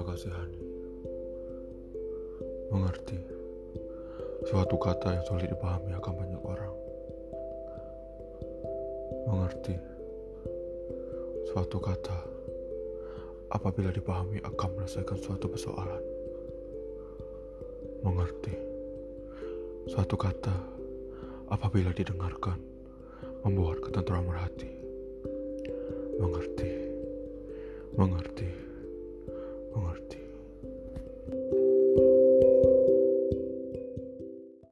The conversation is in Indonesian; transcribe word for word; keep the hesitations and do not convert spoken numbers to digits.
Terima kasih Hani. Mengerti, suatu kata yang sulit dipahami akan banyak orang. Mengerti, suatu kata apabila dipahami akan menyelesaikan suatu persoalan. Mengerti, suatu kata apabila didengarkan membuat ketentraman hati. Mengerti, mengerti,